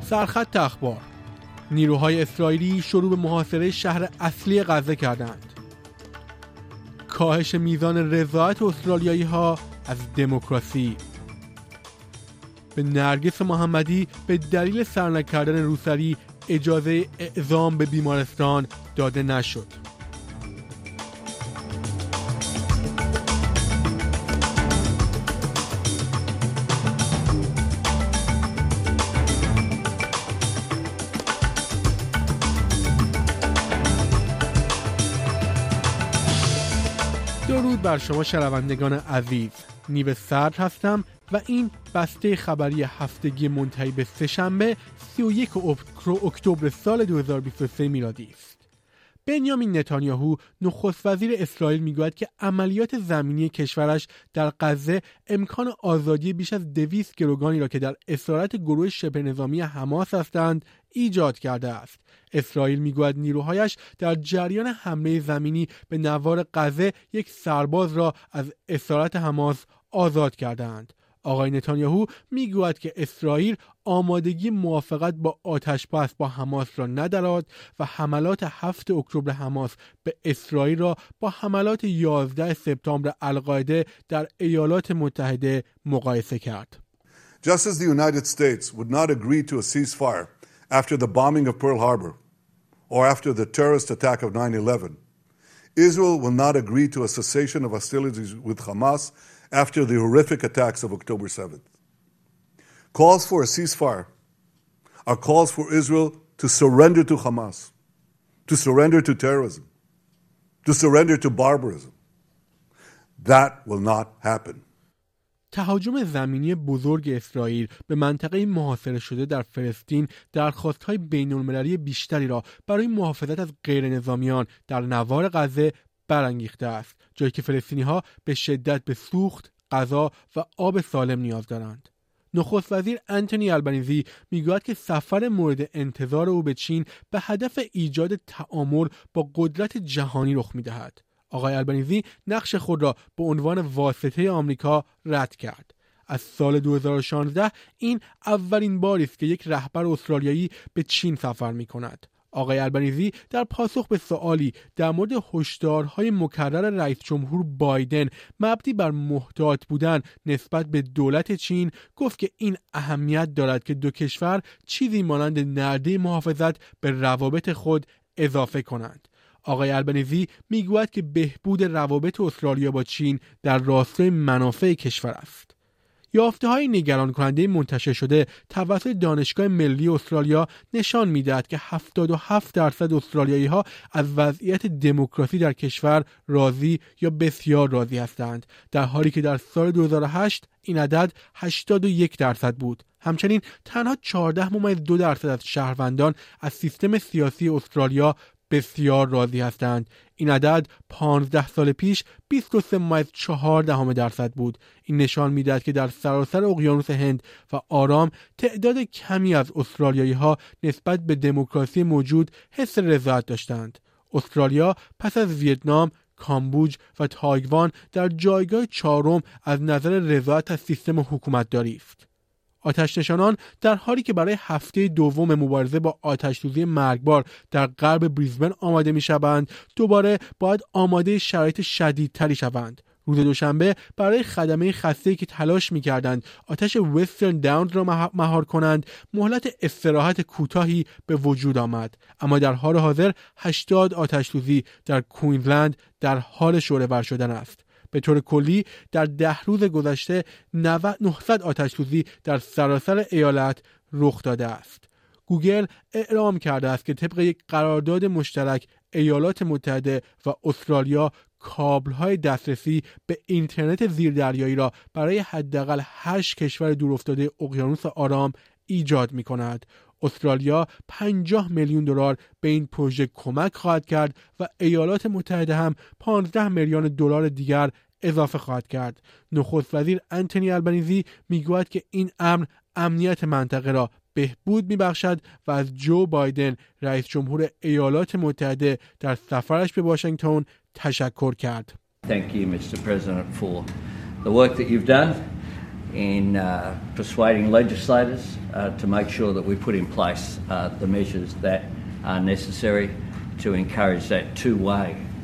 سرخط اخبار: نیروهای اسرائیلی شروع به محاصره شهر اصلی غزه کردند. کاهش میزان رضایت استرالیایی‌ها از دموکراسی. به نرگس محمدی به دلیل سر نکردن روسری اجازه اعزام به بیمارستان داده نشد. درود بر شما شنوندگان عزیز. نیو صدر هستم و این بسته خبری هفتگی منتهی به سه‌شنبه 31 اکتبر سال 2023 میلادی است. بنیامین نتانیاهو نخست وزیر اسرائیل میگوید که عملیات زمینی کشورش در غزه امکان آزادی بیش از 200 گروگانی را که در اسارت گروه شبه نظامی حماس هستند ایجاد کرده است. اسرائیل میگوید نیروهایش در جریان حمله زمینی به نوار غزه یک سرباز را از اسارت حماس آزاد کردند. آقای نتانیاهو میگوید که اسرائیل آمادگی موافقت با آتش‌بس با حماس را ندارد و حملات 7 اکتبر حماس به اسرائیل را با حملات 11 سپتامبر القاعده در ایالات متحده مقایسه کرد. Just as the United States would not agree to a ceasefire after the bombing of Pearl Harbor or after the terrorist attack of 9/11, Israel will not agree to a cessation of hostilities with Hamas after the horrific attacks of October 7th. Calls for a ceasefire are calls for Israel to surrender to Hamas, to surrender to terrorism, to surrender to barbarism. That will not happen. تهاجم زمینی بزرگ اسرائیل به منطقه محاصره شده در فلسطین درخواست‌های بین‌المللی بیشتری را برای محافظت از غیرنظامیان در نوار غزه برانگیخته است، جایی که فلسطینی‌ها به شدت به سوخت، غذا و آب سالم نیاز دارند. نخست وزیر آنتونی آلبانیزی میگوید که سفر مورد انتظار او به چین به هدف ایجاد تعامل با قدرت جهانی رخ می‌دهد. آقای آلبانیزی نقش خود را به عنوان واسطه آمریکا رد کرد. از سال 2016 این اولین باری است که یک رهبر استرالیایی به چین سفر می‌کند. آقای آلبانیزی در پاسخ به سوالی در مورد هشدارهای مکرر رئیس جمهور بایدن مبنی بر محتاط بودن نسبت به دولت چین گفت که این اهمیت دارد که دو کشور چیزی مانند نرده محافظت به روابط خود اضافه کنند. آقای آلبانیزی میگوید که بهبود روابط استرالیا با چین در راستای منافع کشور است. یافته‌های نگران کننده منتشر شده توسط دانشگاه ملی استرالیا نشان می‌دهد که 77% استرالیایی‌ها از وضعیت دموکراسی در کشور راضی یا بسیار راضی هستند، در حالی که در سال 2008 این عدد 81% بود. همچنین تنها 14.2% از شهروندان از سیستم سیاسی استرالیا بسیار راضی هستند. این عدد 15 سال پیش 23.4% بود. این نشان می‌دهد که در سراسر اقیانوس هند و آرام تعداد کمی از استرالیایی‌ها نسبت به دموکراسی موجود حس رضایت داشتند. استرالیا پس از ویتنام، کامبوج و تایوان در جایگاه 4 از نظر رضایت از سیستم حکومتداری است. آتش‌نشانان در حالی که برای هفته دوم مبارزه با آتش‌سوزی مرگبار در غرب بریزبن آماده می‌شوند، دوباره باید آماده شرایط شدیدتری شوند. روز دوشنبه برای خدمه خسته‌ای که تلاش می‌کردند آتش وسترن داونز را مهار کنند، مهلت استراحت کوتاهی به وجود آمد، اما در حال حاضر 80 آتش‌سوزی در کوینزلند در حال شعله‌ور شدن است. به طور کلی در 10 روز گذشته 900 آتش‌سوزی در سراسر ایالت رخ داده است. گوگل اعلام کرده است که طبق یک قرارداد مشترک ایالات متحده و استرالیا کابل‌های دسترسی به اینترنت زیردریایی را برای حداقل 8 کشور دورافتاده اقیانوس آرام ایجاد می‌کند. استرالیا 50 میلیون دلار به این پروژه کمک خواهد کرد و ایالات متحده هم 15 میلیون دلار دیگر اضافه خواهد کرد. نخست وزیر آنتونی آلبانیزی میگوید که این امر امنیت منطقه را بهبود میبخشد و از جو بایدن رئیس جمهور ایالات متحده در سفرش به واشنگتن تشکر کرد. Thank you, Mr. President, for the work that you've done in persuading legislators to make sure that we put in place the measures that are necessary to encourage that two-way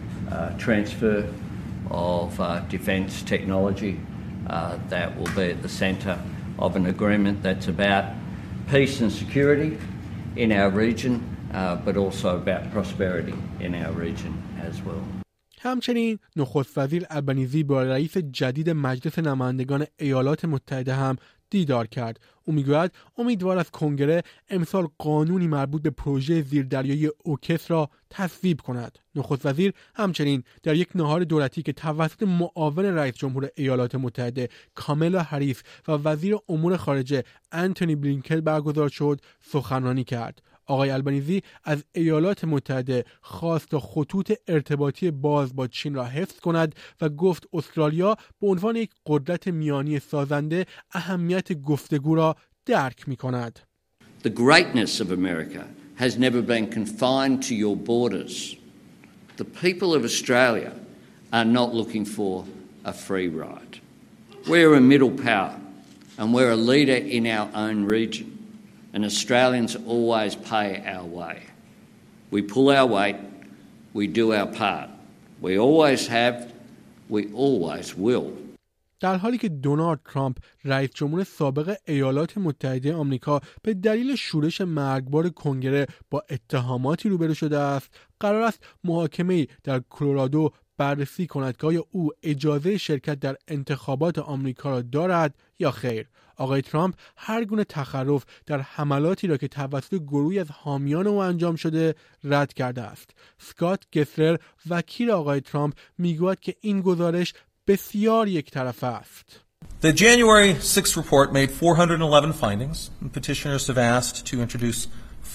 transfer of defence technology that will be at the centre of an agreement that's about peace and security in our region, but also about prosperity in our region as well. همچنین نخست وزیر البنیزی با رئیس جدید مجلس نمایندگان ایالات متحده هم دیدار کرد. او میگوید امیدوار از کنگره امسال قانونی مربوط به پروژه زیردریایی اوکس را تصویب کند. نخست وزیر همچنین در یک نهار دولتی که توسط معاون رئیس جمهور ایالات متحده کامالا هریس و وزیر امور خارجه انتونی بلینکن برگزار شد سخنرانی کرد. آقای البنیزی از ایالات متحده خواست تا خطوط ارتباطی باز با چین را حفظ کند و گفت استرالیا به عنوان یک قدرت میانی سازنده اهمیت گفتگو را درک می کند. The greatness of America has never been confined to your borders. The people of Australia are not looking for a free ride. We're a middle power and we're a leader in our own region. And Australians always pay our way. We pull our weight, we do our part. We always have, we always will. در حالی که دونالد ترامپ رئیس جمهور سابق ایالات متحده آمریکا به دلیل شورش مرگبار کنگره با اتهاماتی روبرو شده است، قرار است محاکمه‌ای در کلرادو بررسی کند که آیا او اجازه شرکت در انتخابات آمریکا را دارد یا خیر. آقای ترامپ هر گونه تخرف در حملاتی را که توسط گروهی از حامیان او انجام شده رد کرده است. اسکات گسلر وکیل آقای ترامپ میگوید که این گزارش بسیار یک طرفه است. The January 6th report made 411 findings, and petitioners have asked to introduce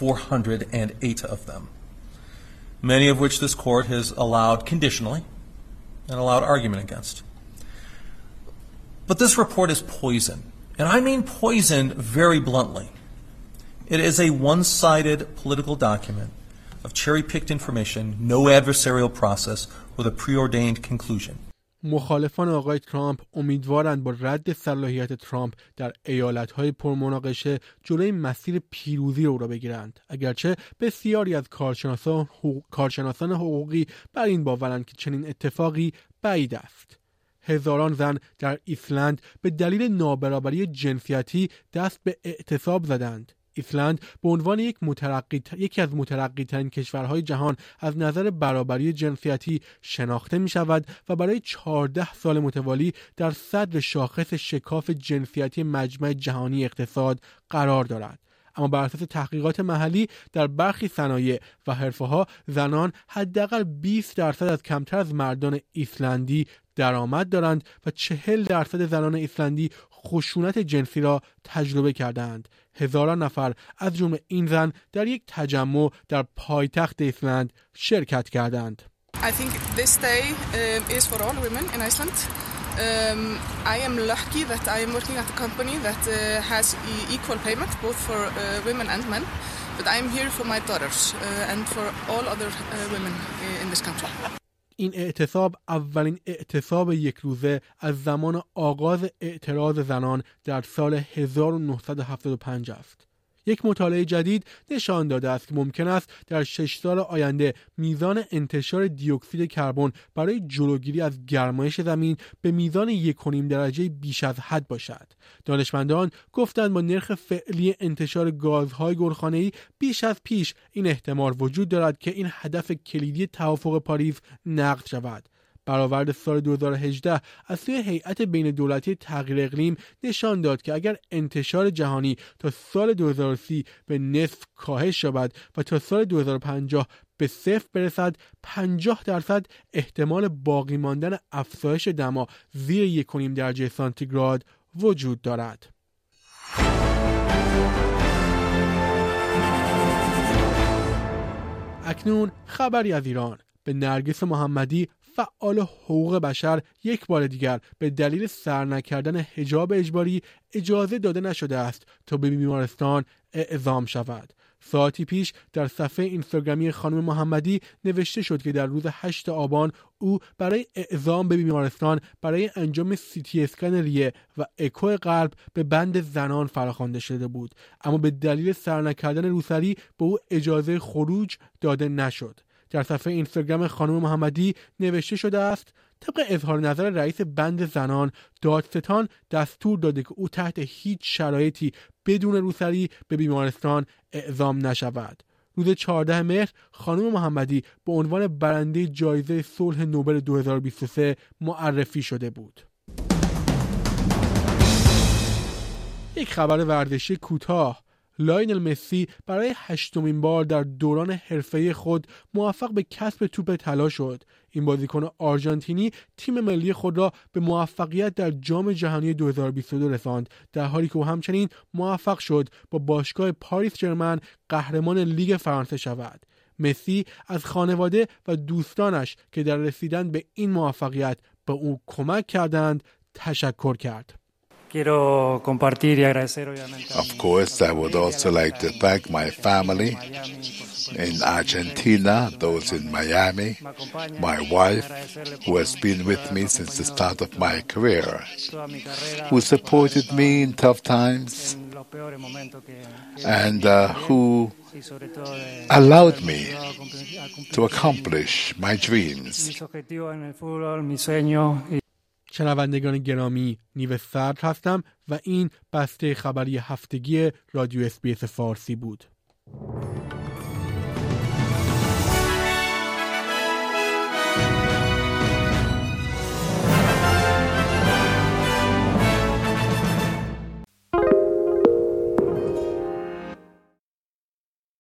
408 of them, many of which this court has allowed conditionally and allowed argument against. But this report is poison, and I mean poison very bluntly. It is a one-sided political document of cherry-picked information, no adversarial process, with a preordained conclusion. مخالفان آقای ترامپ امیدوارند با رد صلاحیت ترامپ در ایالت‌های پرمناقشه جلوی مسیر پیروزی او را بگیرند، اگرچه بسیاری از کارشناسان حقوقی بر این باورند که چنین اتفاقی بعید است. هزاران زن در ایسلند به دلیل نابرابری جنسیتی دست به اعتصاب زدند. ایسلند به عنوان یکی از مترقی‌ترین کشورهای جهان از نظر برابری جنسیتی شناخته می شود و برای 14 سال متوالی در صدر شاخص شکاف جنسیتی مجمع جهانی اقتصاد قرار دارد. اما بر اساس تحقیقات محلی در برخی صنایع و حرفه‌ها زنان حداقل 20% از کمتر از مردان ایسلندی درآمد دارند و 40% زنان ایسلندی خشونت جنسی را تجربه کردند. هزاران نفر از جمله این زن در یک تجمع در پایتخت ایسلند شرکت کردند. I think this day is for all women in Iceland. I am lucky that I am working at a company that has equal payment both for women and men. But I am here for my daughters and for all other women in this country. این اعتصاب اولین اعتصاب یک روزه از زمان آغاز اعتراض زنان در سال 1975 است. یک مطالعه جدید نشان داده است که ممکن است در 6 سال آینده میزان انتشار دیوکسید کربن برای جلوگیری از گرمایش زمین به میزان 1.5 درجه بیش از حد باشد. دانشمندان گفتند با نرخ فعلی انتشار گازهای گلخانه‌ای بیش از پیش این احتمال وجود دارد که این هدف کلیدی توافق پاریس نقض شود. برآورد سال 2018 از سوی هیئت بین دولتی تغییر اقلیم نشان داد که اگر انتشار جهانی تا سال 2030 به نصف کاهش یابد و تا سال 2050 به صفر برسد، 50% احتمال باقی ماندن افزایش دما زیر 1.5 درجه سانتیگراد وجود دارد. اکنون خبری از ایران. به نرگس محمدی فعال حقوق بشر یک بار دیگر به دلیل سر نکردن حجاب اجباری اجازه داده نشده است تا به بیمارستان اعزام شود. ساعتی پیش در صفحه اینستاگرامی خانم محمدی نوشته شد که در روز 8 آبان او برای اعزام به بیمارستان برای انجام CT اسکن ریه و اکو قلب به بند زنان فراخوانده شده بود، اما به دلیل سر نکردن روسری به او اجازه خروج داده نشد. در صفحه اینستاگرام خانم محمدی نوشته شده است: طبق اظهار نظر رئیس بند زنان، دادستان دستور داده که او تحت هیچ شرایطی بدون روسری به بیمارستان اعزام نشود. روز 14 مهر خانم محمدی به عنوان برنده جایزه صلح نوبل 2023 معرفی شده بود. یک خبر ورزشی کوتاه: لایونل مسی برای 8مین بار در دوران حرفه‌ای خود موفق به کسب توپ طلا شد. این بازیکن آرژانتینی تیم ملی خود را به موفقیت در جام جهانی 2022 رساند، در حالی که او همچنین موفق شد با باشگاه پاریس ژرمن قهرمان لیگ فرانسه شود. مسی از خانواده و دوستانش که در رسیدن به این موفقیت به او کمک کردند تشکر کرد. Of course, I would also like to thank my family in Argentina, those in Miami, my wife, who has been with me since the start of my career, who supported me in tough times, and who allowed me to accomplish my dreams. شنوندگان گرامی، نیو سرد هستم و این بسته خبری هفتگی رادیو SBS فارسی بود.